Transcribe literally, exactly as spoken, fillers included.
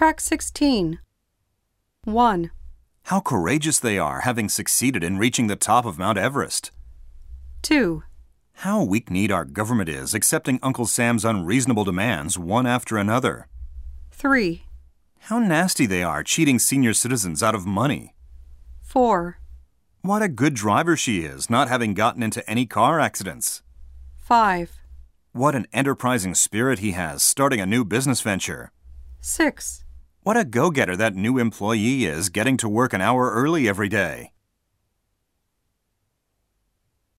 Track sixteen. one. How courageous they are, having succeeded in reaching the top of Mount Everest. two. How weak-kneed our government is, accepting Uncle Sam's unreasonable demands one after another. three. How nasty they are, cheating senior citizens out of money. four. What a good driver she is, not having gotten into any car accidents. five. What an enterprising spirit he has, starting a new business venture. six. What a go-getter that new employee is, getting to work an hour early every day.